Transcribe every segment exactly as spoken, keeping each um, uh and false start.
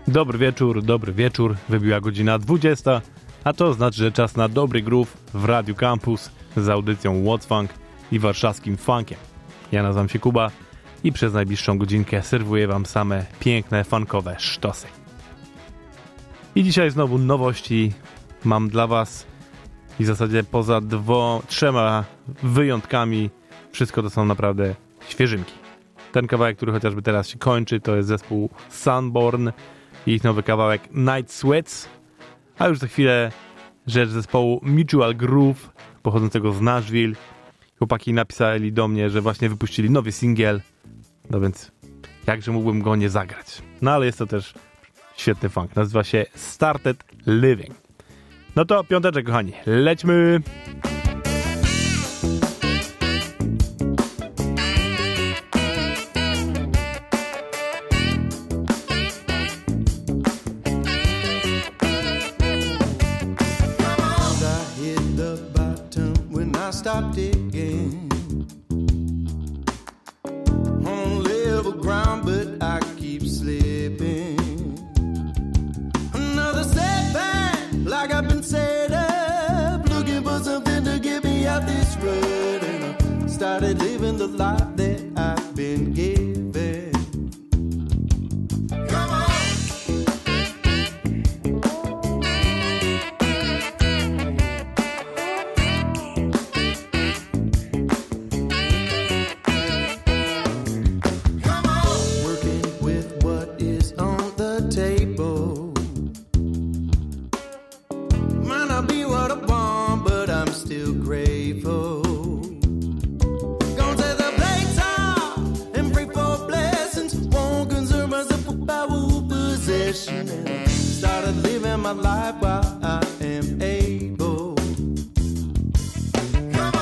Dobry wieczór, dobry wieczór. Wybiła godzina dwudziesta, a to znaczy, że czas na dobry groove w Radiu Campus z audycją What's Funk i warszawskim funkiem. Ja nazywam się Kuba i przez najbliższą godzinkę serwuję wam same piękne, funkowe sztosy. I dzisiaj znowu nowości mam dla was i w zasadzie poza dwo, trzema wyjątkami wszystko to są naprawdę świeżynki. Ten kawałek, który chociażby teraz się kończy, to jest zespół Sunborn i ich nowy kawałek Night Sweats, a już za chwilę rzecz zespołu Mutual Groove pochodzącego z Nashville. Chłopaki napisali do mnie, że właśnie wypuścili nowy singiel, no więc jakże mógłbym go nie zagrać. No ale jest to też świetny funk, nazywa się Started Living. No to piąteczek, kochani, lećmy! Stop digging on level ground, but I keep slipping. Another setback, like I've been set up, looking for something to get me out this rut, and I started living the life that I've been given. Started living my life while I am able. Come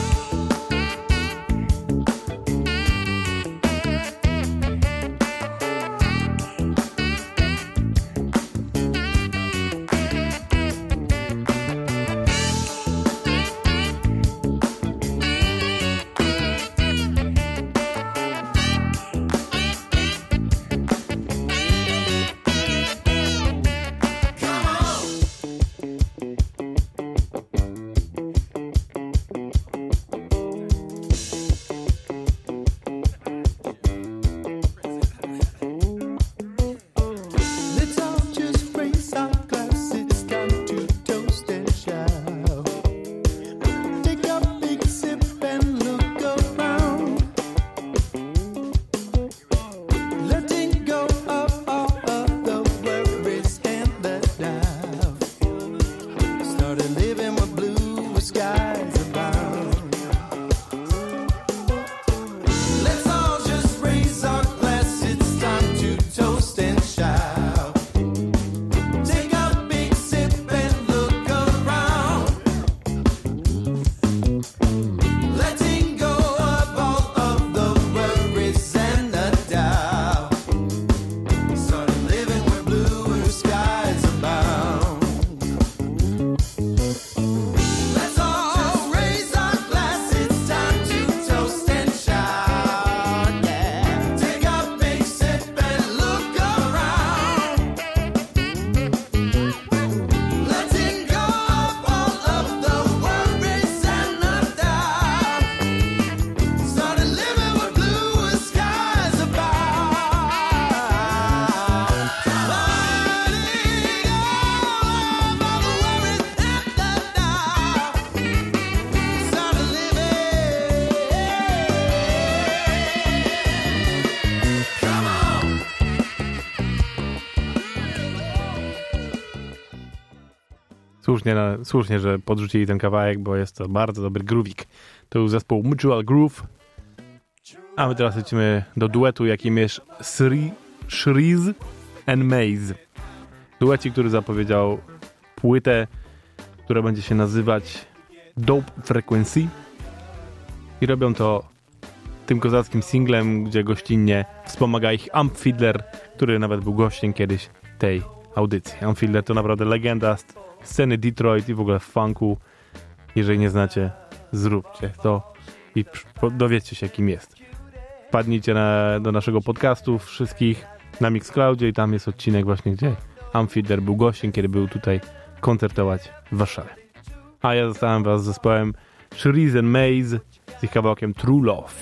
Słusznie, słusznie, że podrzucili ten kawałek, bo jest to bardzo dobry groovik. To był zespół Mutual Groove. A my teraz lecimy do duetu, jakim jest Shreeze and Maze. Duecik, który zapowiedział płytę, która będzie się nazywać Dope Frequency. I robią to tym kozackim singlem, gdzie gościnnie wspomaga ich Amp Fiddler, który nawet był gościem kiedyś tej audycji. Amp Fiddler to naprawdę legenda sceny Detroit i w ogóle funku. Jeżeli nie znacie, zróbcie to i dowiedzcie się, kim jest. Wpadnijcie na, do naszego podcastu wszystkich na Mixcloudzie i tam jest odcinek właśnie, gdzie Amphider był gościem, kiedy był tutaj koncertować w Warszawie. A ja zostałem was z zespołem Shrees and Maze z ich kawałkiem True Love.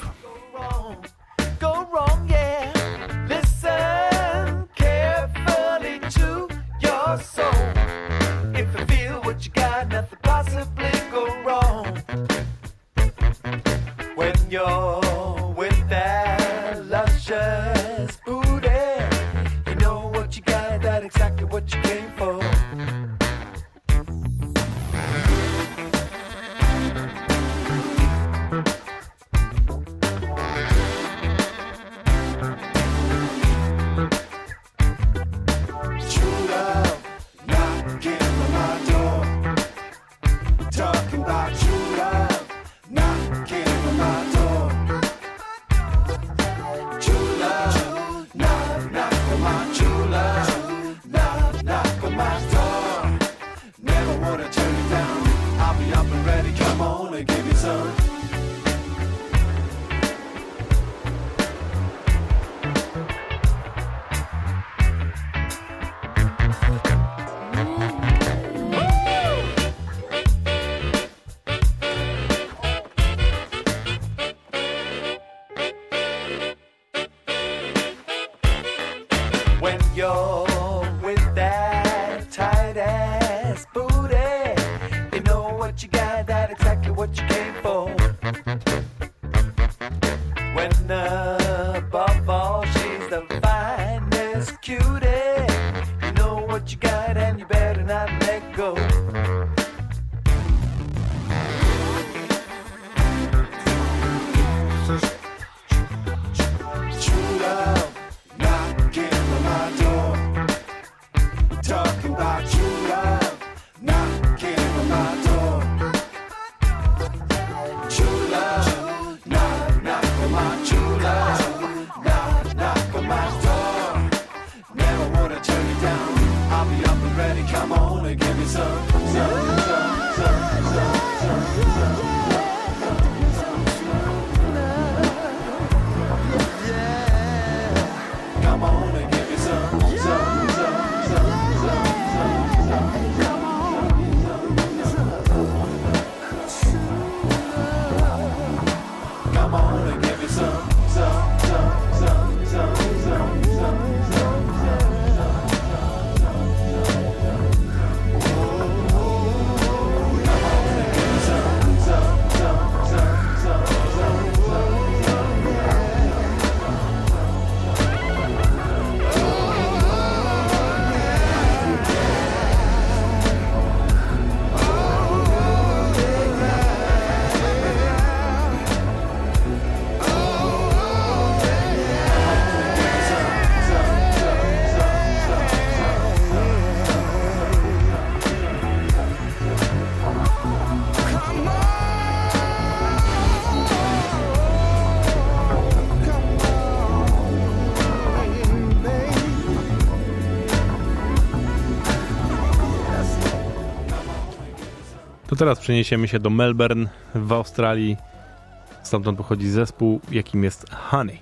To teraz przeniesiemy się do Melbourne w Australii. Stamtąd pochodzi zespół, jakim jest Honey.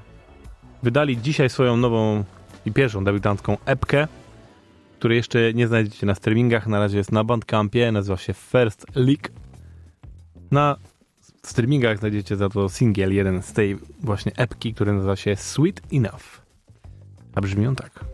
Wydali dzisiaj swoją nową i pierwszą debiutancką epkę, której jeszcze nie znajdziecie na streamingach. Na razie jest na Bandcampie, nazywa się First League. Na streamingach znajdziecie za to singiel, jeden z tej właśnie epki, który nazywa się Sweet Enough. A brzmi on tak.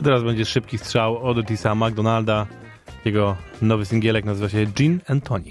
To teraz będzie szybki strzał od Otisa McDonalda. Jego nowy singielek nazywa się Gin and Tonic.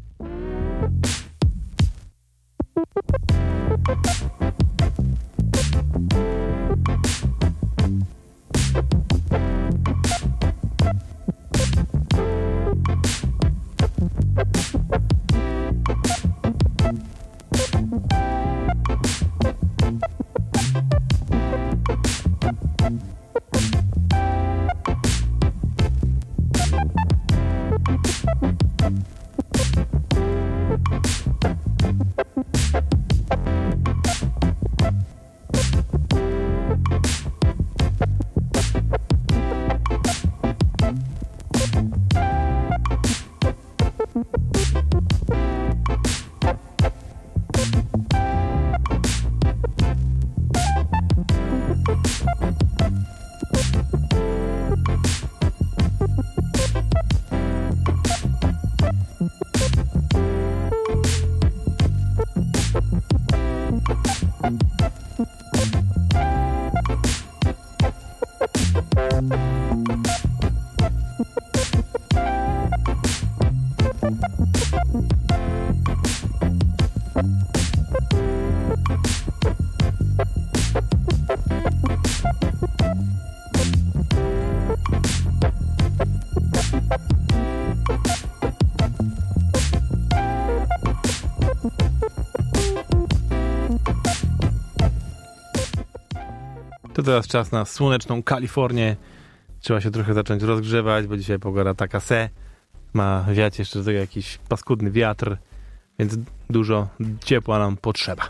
To teraz czas na słoneczną Kalifornię. Trzeba się trochę zacząć rozgrzewać, bo dzisiaj pogoda taka se. Ma wiać jeszcze do tego jakiś paskudny wiatr, więc dużo ciepła nam potrzeba.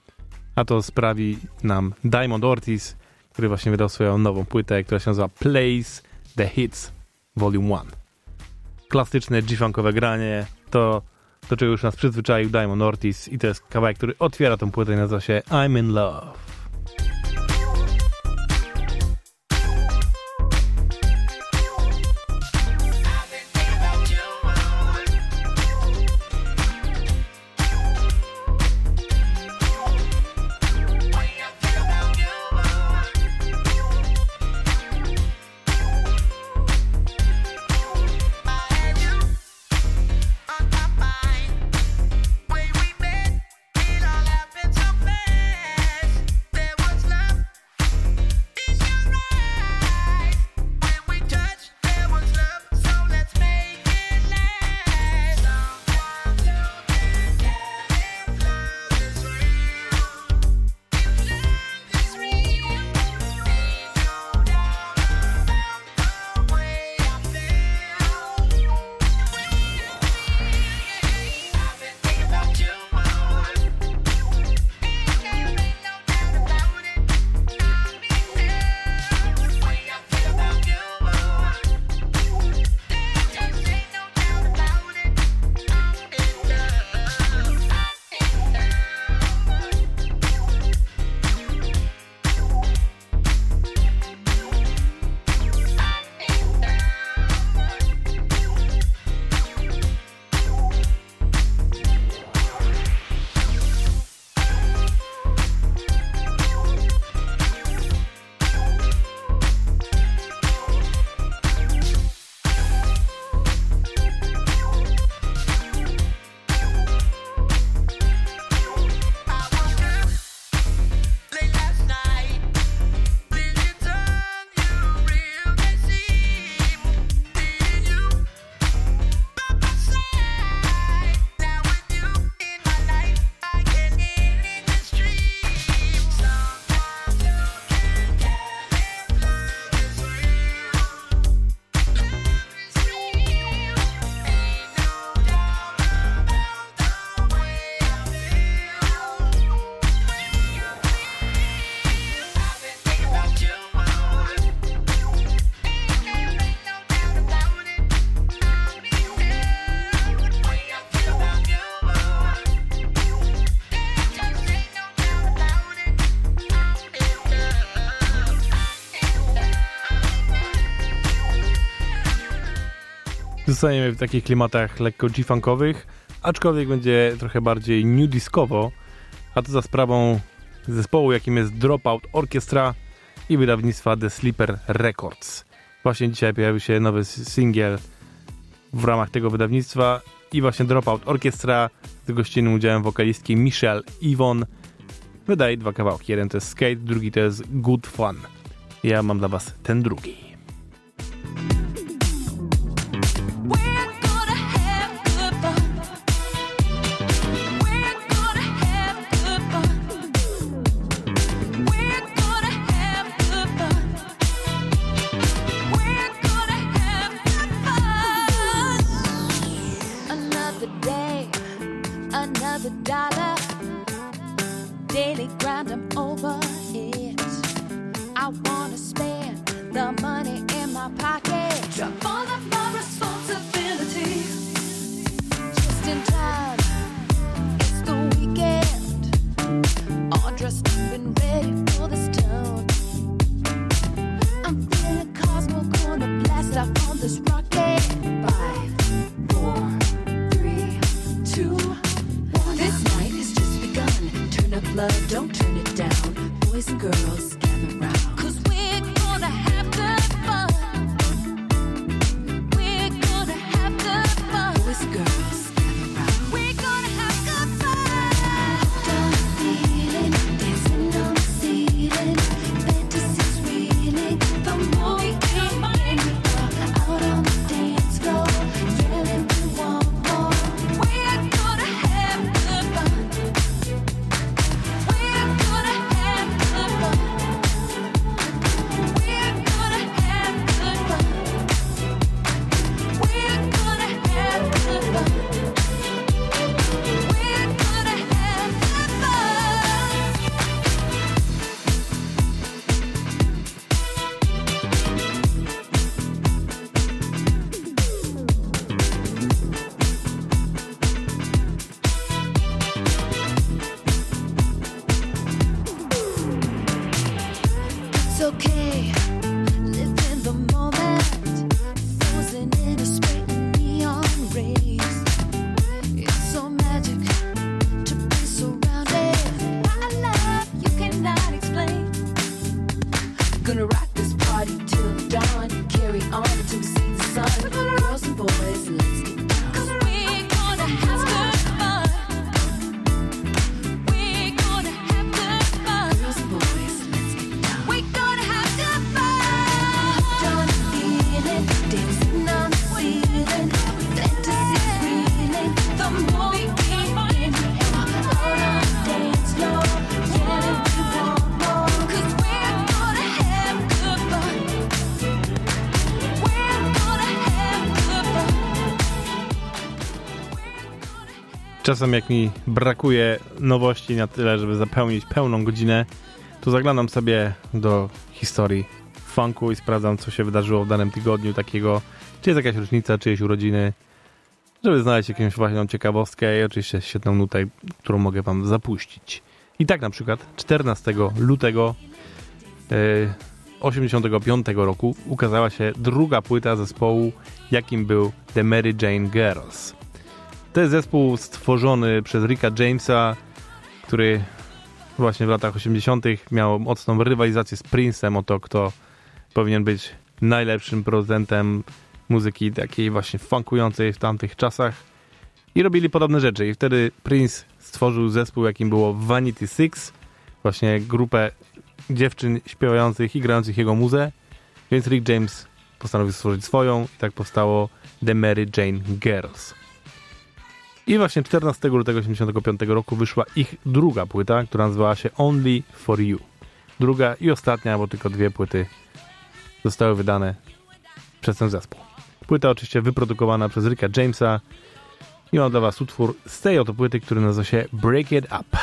A to sprawi nam Diamond Ortiz, który właśnie wydał swoją nową płytę, która się nazywa Plays the Hits Volume jeden. Klasyczne G-funkowe granie, to do czego już nas przyzwyczaił Diamond Ortiz i to jest kawałek, który otwiera tą płytę i nazywa się I'm in Love. Zostaniemy w takich klimatach lekko G-funkowych, aczkolwiek będzie trochę bardziej new discowo, a to za sprawą zespołu, jakim jest Dropout Orchestra i wydawnictwa The Sleeper Records. Właśnie dzisiaj pojawił się nowy singiel w ramach tego wydawnictwa i właśnie Dropout Orchestra z gościnnym udziałem wokalistki Michelle Yvonne wydaje dwa kawałki. Jeden to jest Skate, drugi to jest Good Fun. Ja mam dla was ten drugi. Daily grind, I'm over it. I wanna spend the money in my pocket. Drop all of my responsibility. Just in time, it's the weekend. All dressed up and ready for this town. I'm feeling Cosmo, gonna blast off on this rocket. Five, four, three, two, one. This night has just begun. Turn up love, don't turn it down. Boys and girls, gather round. Cause we're gonna have the fun. We're gonna have the fun. Boys and girls, gather round. We're gonna have good fun. Don't feeling, dancing on the ceiling. Fantasy's reeling. The more we come in, out on the dance floor, yelling we want more. We're gonna have good fun. We're gonna have good fun. We're gonna have good fun. We're gonna have good fun. We're gonna have good It's okay, live in the moment, frozen in a spray of neon rays. It's so magic to be surrounded by a love you cannot explain. Gonna rock this party till dawn, carry on until we see the sun. Girls and boys, let's get down. 'Cause we're gonna have good fun. We're gonna have good fun. Girls and boys, let's get down. We're gonna have good fun. Don't feel it, dancing on the ceiling. Fantasy's reeling. The more we keep in, out on the dance floor, yelling we want more. 'Cause we're gonna have good fun. We're gonna have good fun. Czasem jak mi brakuje nowości na tyle, żeby zapełnić pełną godzinę, to zaglądam sobie do historii funku i sprawdzam, co się wydarzyło w danym tygodniu takiego, czy jest jakaś rocznica, czyjeś urodziny, żeby znaleźć jakąś właśnie ciekawostkę i oczywiście świetną nutę, którą mogę wam zapuścić. I tak na przykład czternastego lutego osiemdziesiątego piątego roku ukazała się druga płyta zespołu, jakim był The Mary Jane Girls. To jest zespół stworzony przez Ricka Jamesa, który właśnie w latach osiemdziesiątych miał mocną rywalizację z Prince'em o to, kto powinien być najlepszym producentem muzyki takiej właśnie funkującej w tamtych czasach. I robili podobne rzeczy. I wtedy Prince stworzył zespół, jakim było Vanity Six, właśnie grupę dziewczyn śpiewających i grających jego muzę. Więc Rick James postanowił stworzyć swoją i tak powstało The Mary Jane Girls. I właśnie czternastego lutego osiemdziesiątego piątego roku wyszła ich druga płyta, która nazywała się Only For You. Druga i ostatnia, bo tylko dwie płyty zostały wydane przez ten zespół. Płyta oczywiście wyprodukowana przez Ricka Jamesa i mam dla was utwór z tej oto płyty, który nazywa się Break It Up.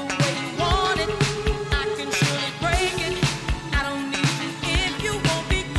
Be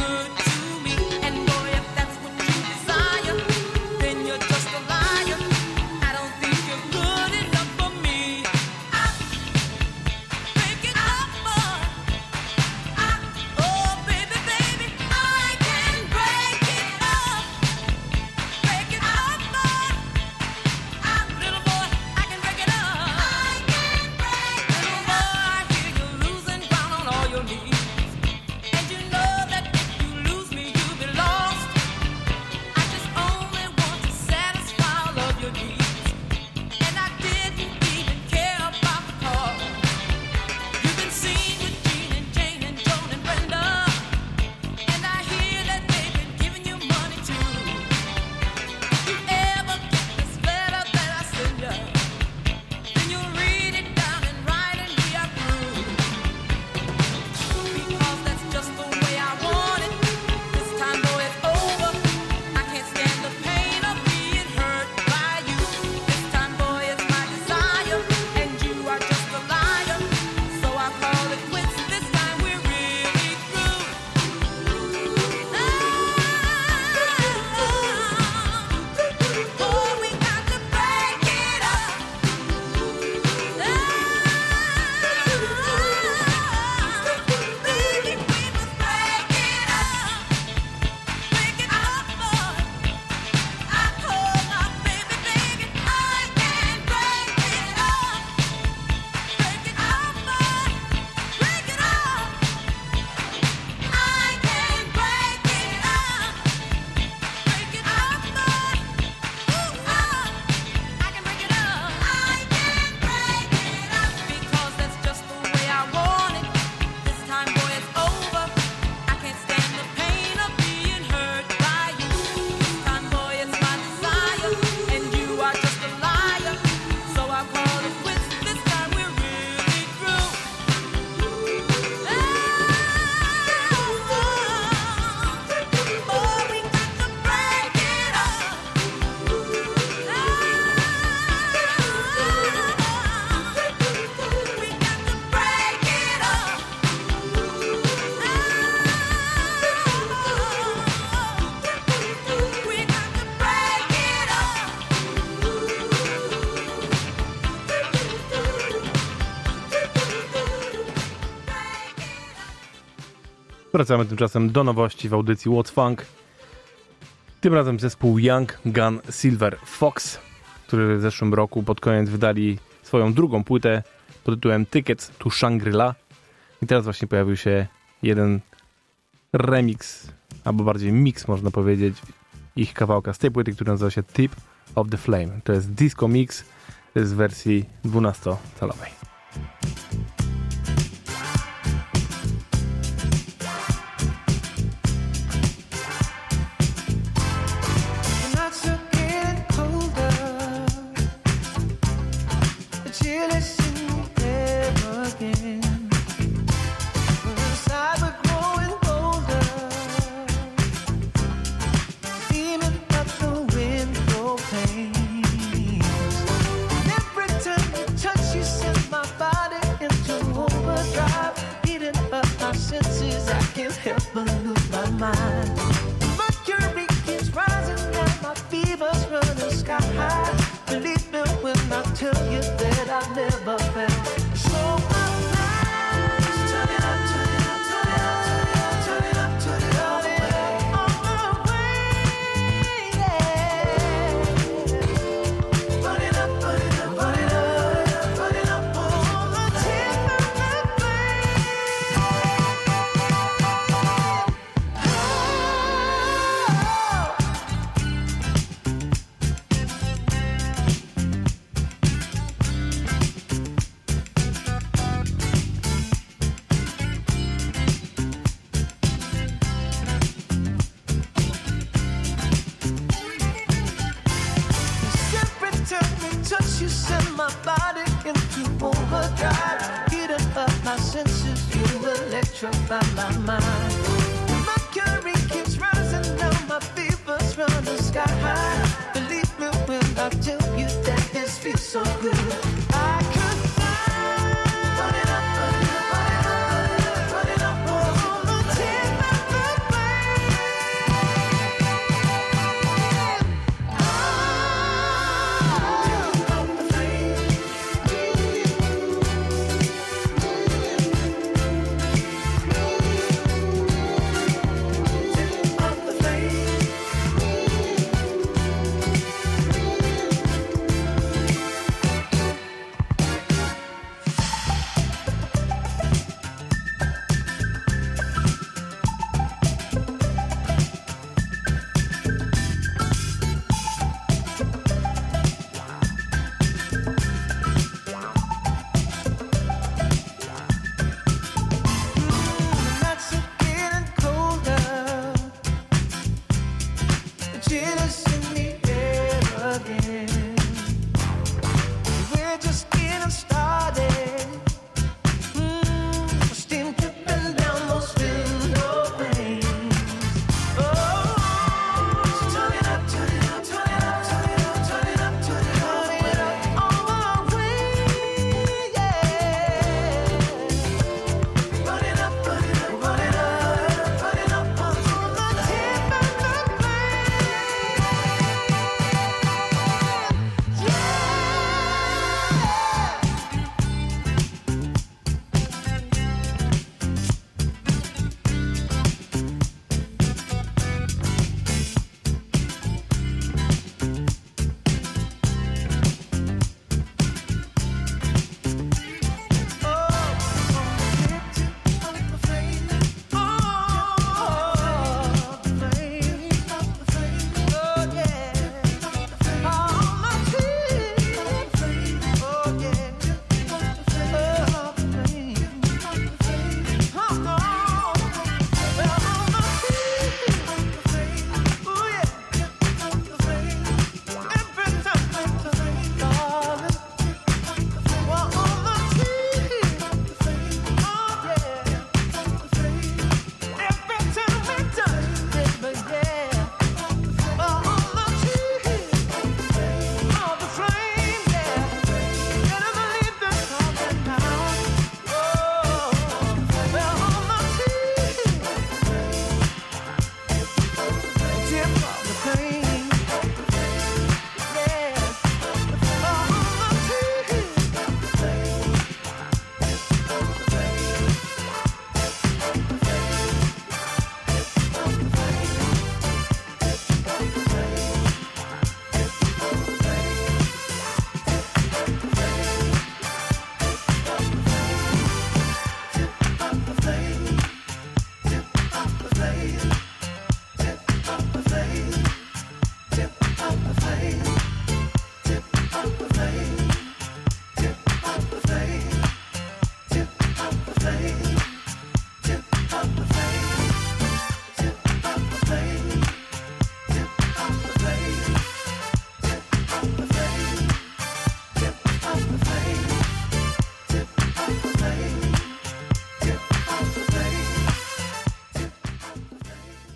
Wracamy tymczasem do nowości w audycji What's Funk. Tym razem zespół Young Gun Silver Fox, który w zeszłym roku pod koniec wydali swoją drugą płytę pod tytułem Tickets to Shangri-La. I teraz właśnie pojawił się jeden remix, albo bardziej mix można powiedzieć, ich kawałka z tej płyty, który nazywa się Tip of the Flame. To jest disco mix z wersji dwunastocalowej.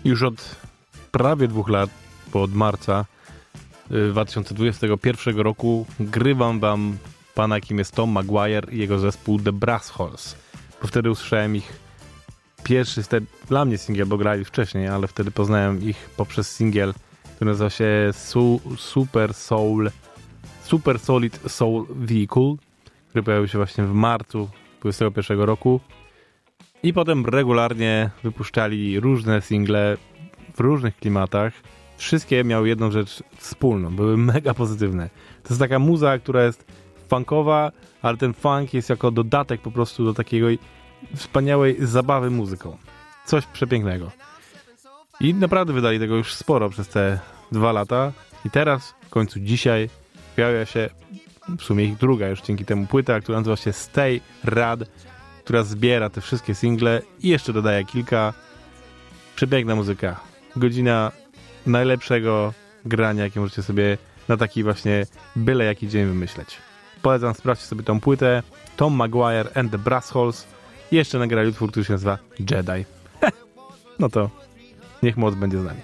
Już od prawie dwóch lat, bo od marca dwa tysiące dwudziestego pierwszego roku grywam wam pana, jakim jest Tom Maguire i jego zespół The Brass Holes. Bo wtedy usłyszałem ich pierwszy, wtedy, dla mnie singiel, bo grali wcześniej, ale wtedy poznałem ich poprzez singiel, który nazywa się Su- Super Soul Super Solid Soul Vehicle, który pojawił się właśnie w marcu dwudziestego pierwszego roku i potem regularnie wypuszczali różne single w różnych klimatach. Wszystkie miały jedną rzecz wspólną, były mega pozytywne. To jest taka muza, która jest funkowa, ale ten funk jest jako dodatek po prostu do takiej wspaniałej zabawy muzyką. Coś przepięknego. I naprawdę wydali tego już sporo przez te dwa lata i teraz, w końcu dzisiaj, pojawia się w sumie ich druga już dzięki temu płyta, która nazywa się Stay Rad, która zbiera te wszystkie single i jeszcze dodaje kilka. Przepiękna muzyka. Godzina najlepszego grania, jakie możecie sobie na taki właśnie byle jaki dzień wymyśleć. Polecam, sprawdźcie sobie tą płytę. Tom Maguire and the Brass Holes i jeszcze nagrali utwór, który się nazywa Jedi. No to niech moc będzie z nami.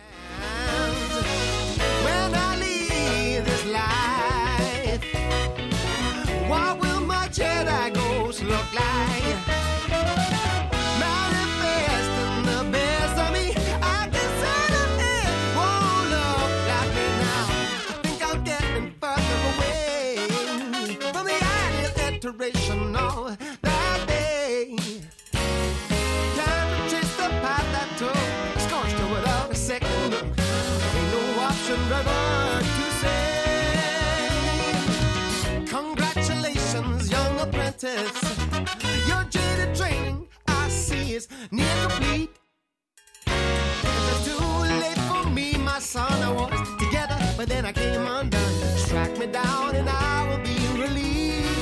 That day, time to chase the path that took, scorched her without a second look. Ain't no option rather to say, congratulations, young apprentice. Your jaded training, I see, is near complete. If it's too late for me, my son, I was together, but then I came undone. Strike me down and I will be released.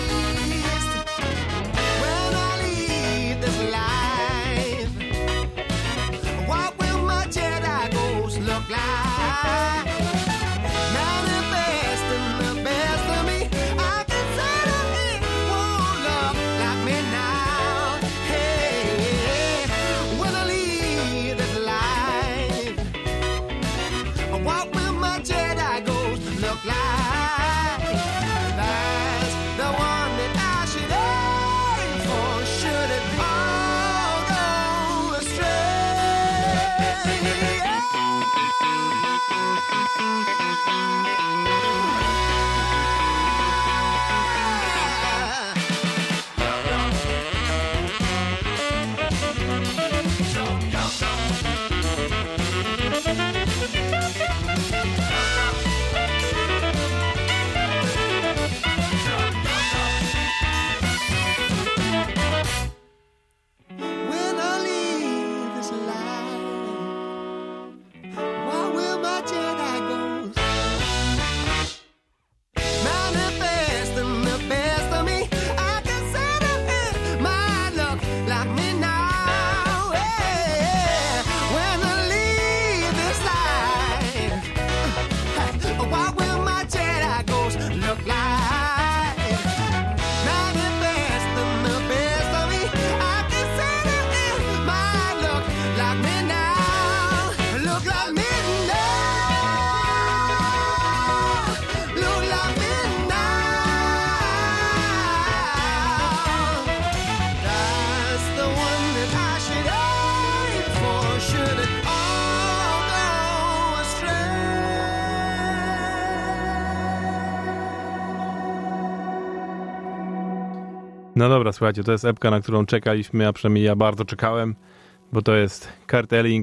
No dobra, słuchajcie, to jest epka, na którą czekaliśmy, a przynajmniej ja bardzo czekałem, bo to jest Kurt Elling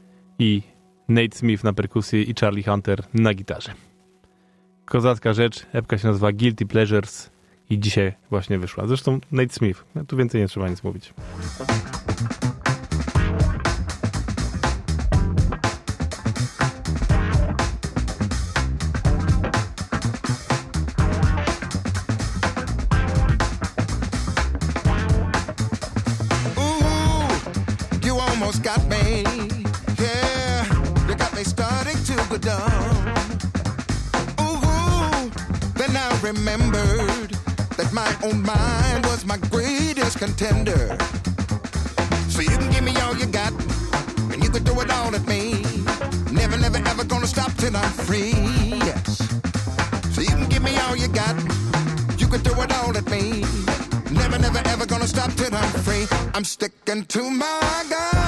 i Nate Smith na perkusji i Charlie Hunter na gitarze. Kozacka rzecz, epka się nazywa Guilty Pleasures i dzisiaj właśnie wyszła. Zresztą Nate Smith, tu więcej nie trzeba nic mówić. Got me, yeah, you got me starting to go down. Ooh, then I remembered that my own mind was my greatest contender. So you can give me all you got, and you can throw it all at me. till I'm free. Yes. So you can give me all you got. You can throw it all at me. Never, never, ever gonna stop till I'm free. I'm sticking to my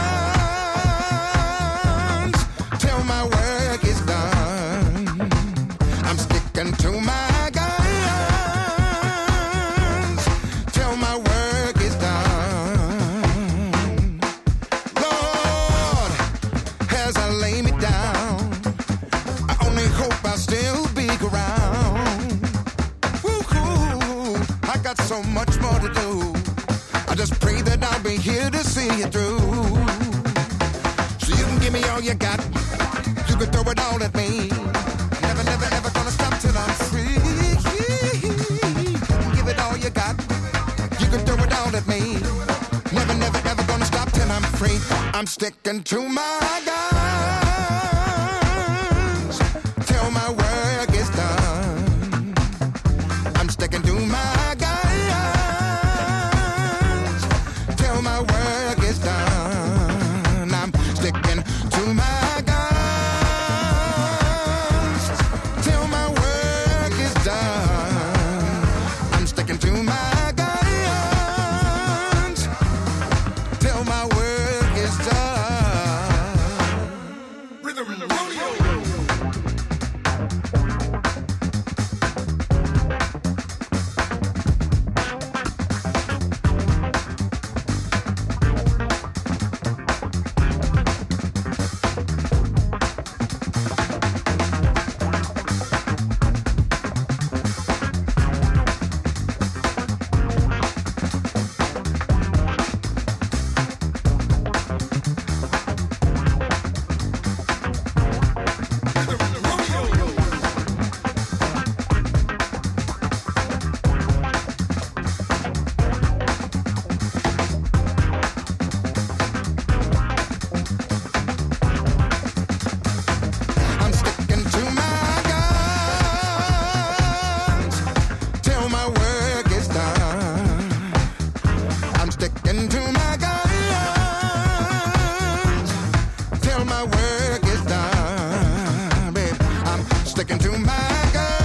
guns till my work is done. I'm sticking to my guns till my work is done. Lord, as I lay me down, I only hope I'll still be around. Woo-hoo, I got so much more to do. I just pray that I'll be here to see you through. So you can give me all you got. You can throw it all at me. Never, never, ever gonna stop till I'm free. Give it all you got. You can throw it all at me. Never, never, ever gonna stop till I'm free. I'm sticking to my guns till my work is done. I'm sticking to my guns till my work is done. I'm sticking to my guns till my work is done. I'm sticking to my guns till my work is done. Rhythm, rhythm, rodeo. I'm sticking to my guns till my work is done. I'm sticking to my guns till my work is done, babe. I'm sticking to my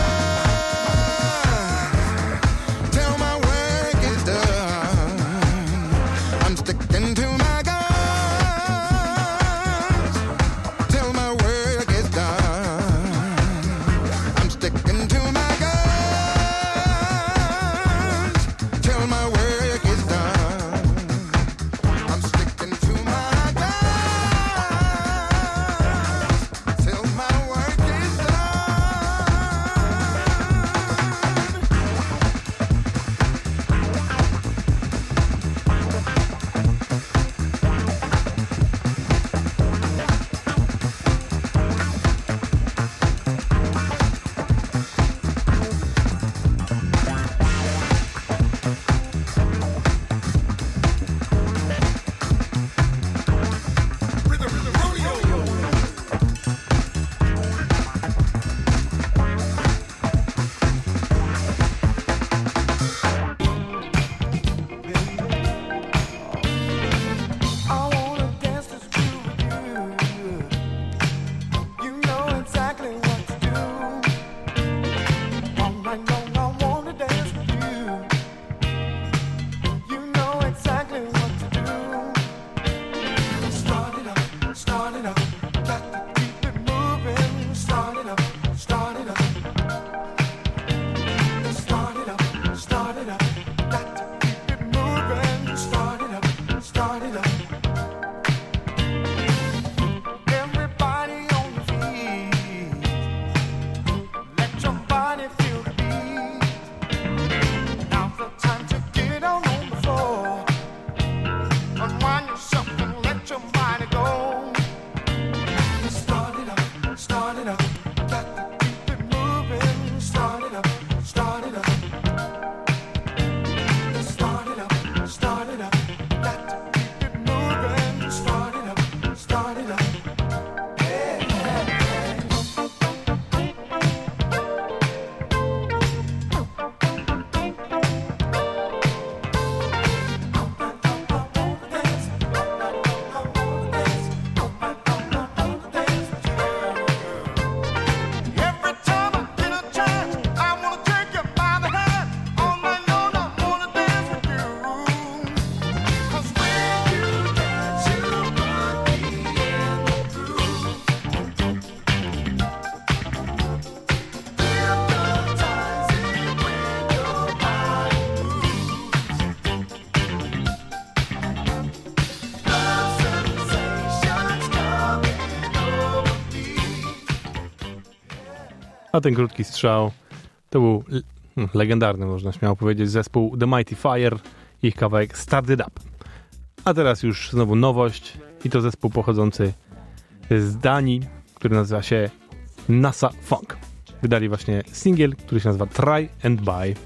guns till my work is done. I'm sticking to my guns till my work is done. I'm sticking to my guns till my work is done. A ten krótki strzał to był hmm, legendarny, można śmiało powiedzieć, zespół The Mighty Fire, ich kawałek Start It Up. A teraz już znowu nowość i to zespół pochodzący z Danii, który nazywa się NASA Funk. Wydali właśnie singiel, który się nazywa Try and Buy.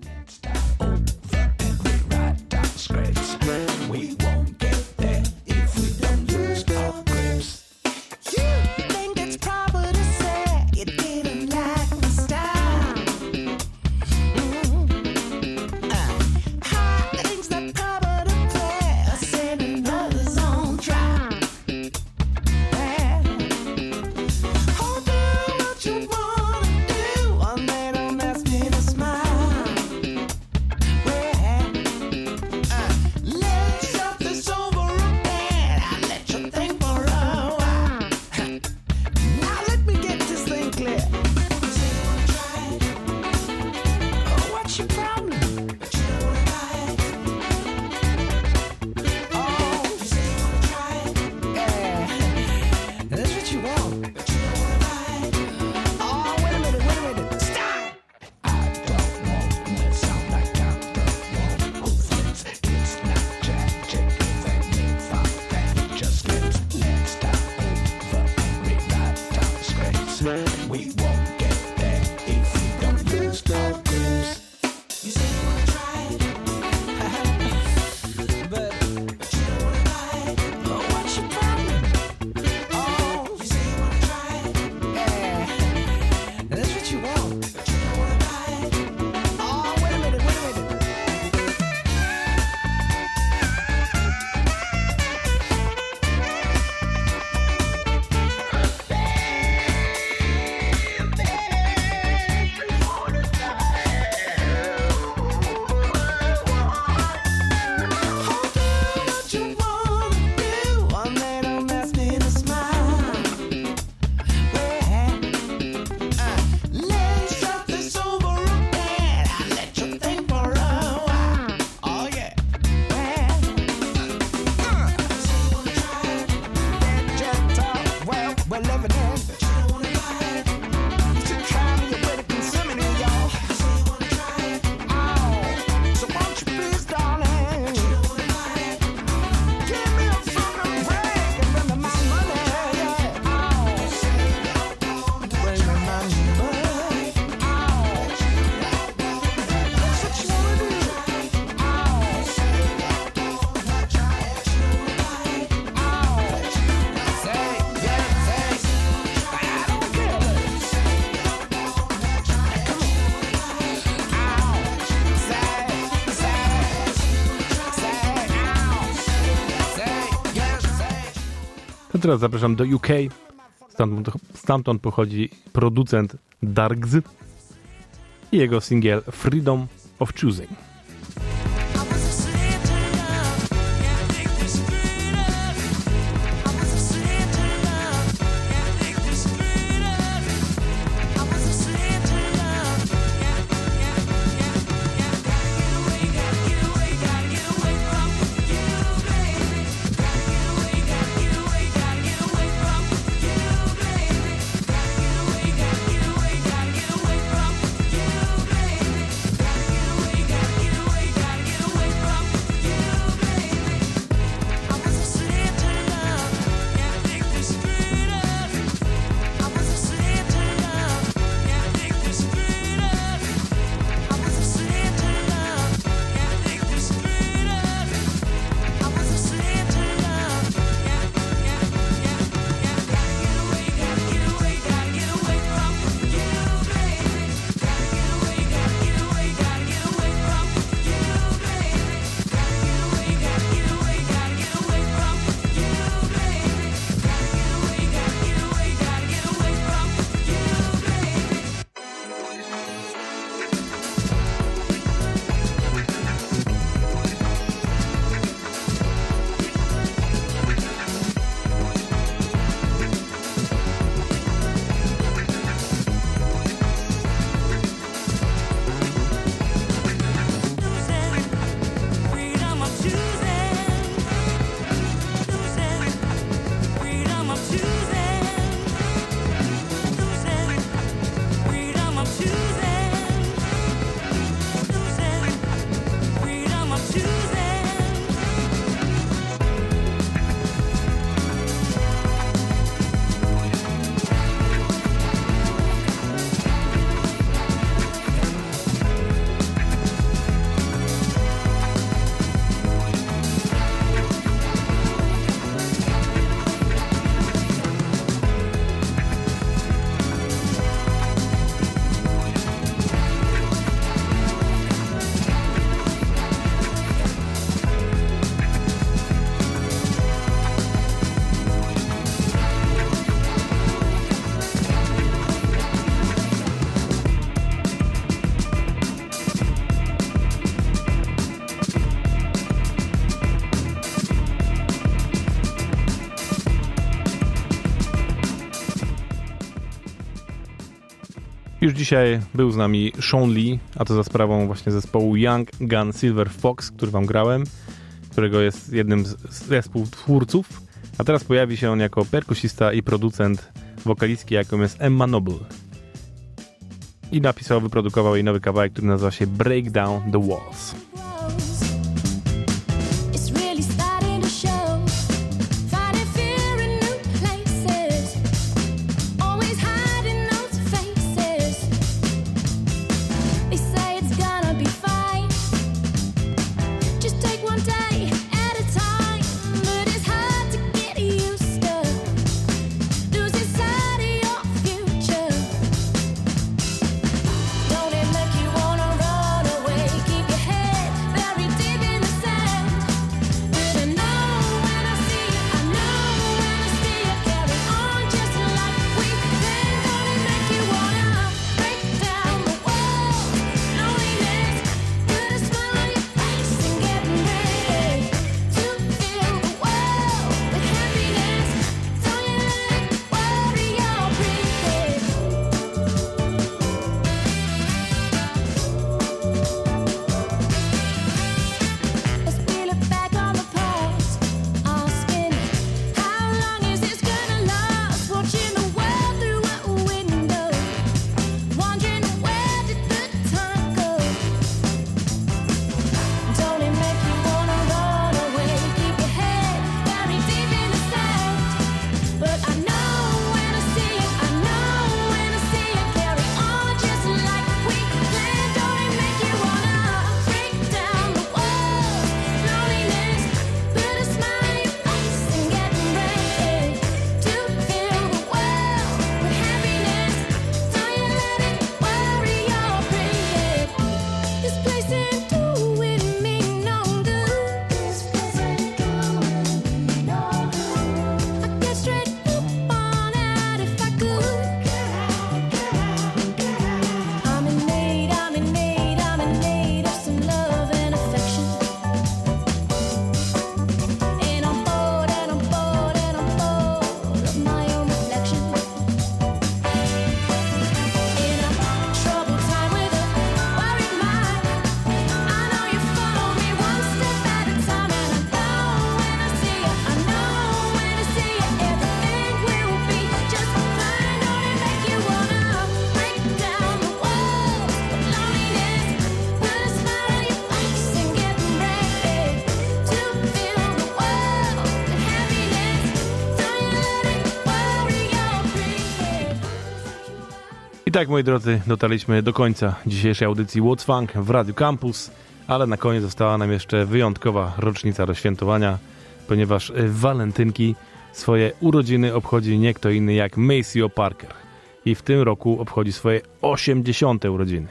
Teraz zapraszam do U K. Stamtąd, stamtąd pochodzi producent Dargs i jego singiel Freedom of Choosing. Got Już dzisiaj był z nami Sean Lee, a to za sprawą właśnie zespołu Young Gun Silver Fox, który wam grałem, którego jest jednym z zespół twórców, a teraz pojawi się on jako perkusista i producent wokalistki, jaką jest Emma Noble. I napisał, wyprodukował jej nowy kawałek, który nazywa się Break Down the Walls. I tak, moi drodzy, dotarliśmy do końca dzisiejszej audycji What's Funk w Radio Campus, ale na koniec została nam jeszcze wyjątkowa rocznica do świętowania, ponieważ w walentynki swoje urodziny obchodzi nie kto inny jak Maceo Parker i w tym roku obchodzi swoje osiemdziesiąte urodziny.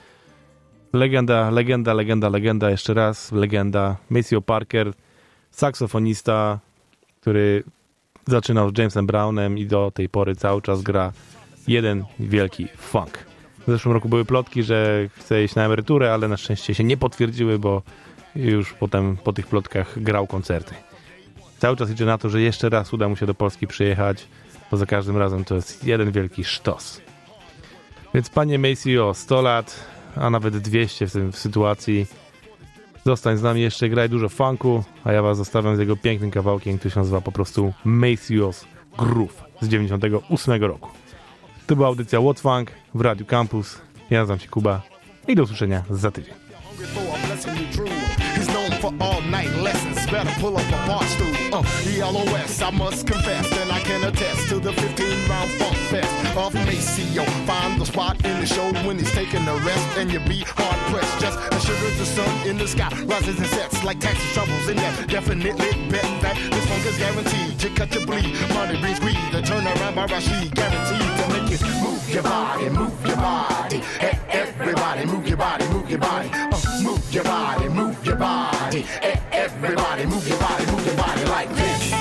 Legenda, legenda, legenda, legenda, jeszcze raz legenda. Maceo Parker, saksofonista, który zaczynał z Jamesem Brownem i do tej pory cały czas gra jeden wielki funk. W zeszłym roku były plotki, że chce iść na emeryturę, ale na szczęście się nie potwierdziły, bo już potem po tych plotkach grał koncerty. Cały czas idzie na to, że jeszcze raz uda mu się do Polski przyjechać, bo za każdym razem to jest jeden wielki sztos. Więc panie Maceo, sto lat, a nawet dwieście w tej sytuacji. Zostań z nami jeszcze, graj dużo funku, a ja was zostawiam z jego pięknym kawałkiem, który się nazywa po prostu Maceo's Groove z dziewięćdziesiątego ósmego roku. To była audycja What's Funk w Radio Campus. Ja nazywam się Kuba i do usłyszenia za tydzień. He's known for all night lessons. Better pull up a bar stool. Uh, E L O S, I must confess, and I can attest to the fifteen round funk fest of Maceo. Find the spot in the show when he's taking a rest, and you be hard pressed. Just as sure as the sun in the sky rises and sets like taxi troubles in that. Definitely bet that this funk is guaranteed to cut your bleed. Money brings greed, the turnaround by Rashid, guaranteed to make you move your body, move your body. Hey, everybody, move your body, move your body. Uh, move your body, move your body. Hey, everybody, move your body, move your body like this.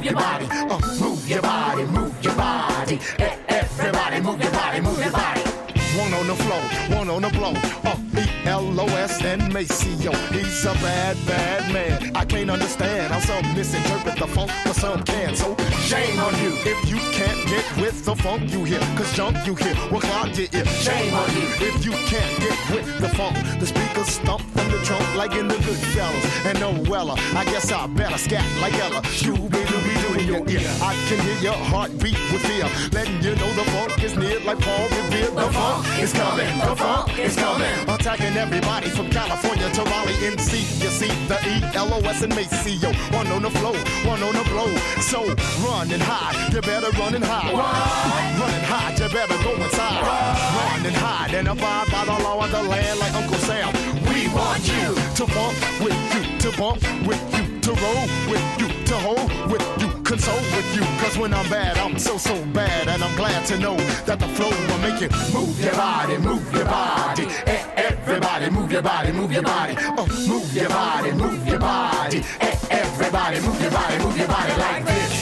your body. Uh, move your body, move your body. E- everybody move your body, move your body. One on the floor, one on the blow. Uh, E L O S and Maceo. He's a bad, bad man. I can't understand how some misinterpret the funk, but some can. So shame on you if you can't get with the funk you hear. Cause junk you hear will clog your ear. Shame on you if you can't get with the funk. The speakers stomp from the trunk like in the Goodfellas. And no Weller, I guess I better scat like Ella. Scooby-Dooby-Doo in your ear. I can hear your heartbeat with fear, letting you know the funk is near like Paul Revere. The funk is coming, the funk is coming. Attacking everybody from California to Raleigh, N C. You see the E L O S and Maceo. One on the flow, one on the blow. So run and hide, you better run and hide. Run, run and hide, you better go inside. Run, run and hide and abide by the law of the land like Uncle Sam. We want you to bump with you, to bump with you, to roll with you, to hold with you, console with you. Cause when I'm bad, I'm so, so bad. And I'm glad to know that the flow will make you move your body, move your body. E- everybody move your body, move your body. Oh, move your body, move your body. E- everybody move your body, move your body like this.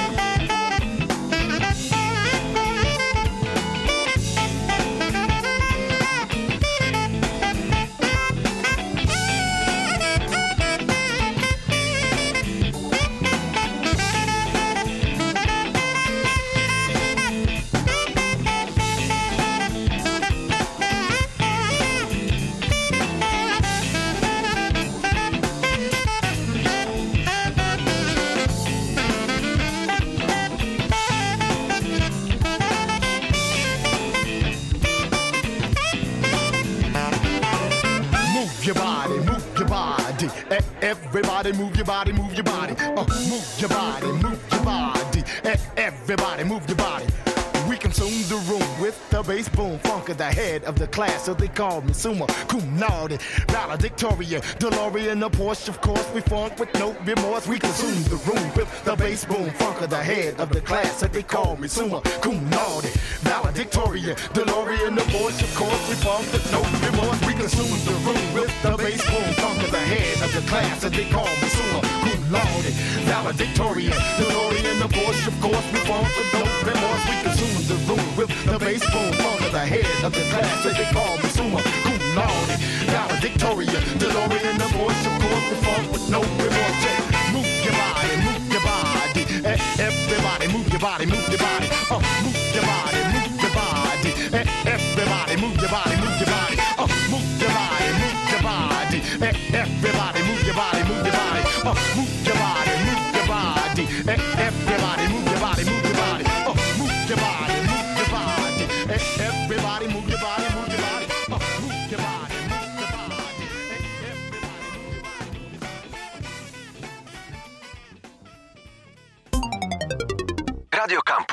Everybody move your body, move your body. Uh, move your body, move your body. E- everybody move your body. We consume the room with the bass boom funk at the head of the class, so they call me Summa Cum Laude, valedictorian, DeLorean, a Porsche, of course. We funk with no remorse. We consume the room with the bass boom funk at the head of the class, so they call me Summa Cum Laude, valedictorian, DeLorean, a Porsche, of course. We funk with no remorse. We consume the room with the bass boom funk at the head of the class, so they call me Summa Cum Laude, valedictorian, DeLorean, a Porsche, of course. We funk with no remorse. We consume the room with the bass boom funk at the head of the class, so they call me Summa Cum Laude, valedictorian, DeLorean, the Porsche, of course. We funk with no remorse. Yeah. Move your body, move your body. E- everybody move your body, move your body. Uh, move your body, move your body. E- everybody move your body, move your body. Uh, move your body, move your body. E- everybody move your body, move your body. Uh, move your body, move your body. E- everybody move your body, move your body. Uh, move your body, move your body. E- everybody move your body, move your body. Uh, move your body, move your body. E- everybody move your body, move your body. Radio Campus.